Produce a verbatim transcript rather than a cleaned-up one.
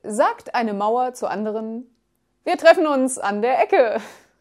sagt eine Mauer zur anderen: Wir treffen uns an der Ecke.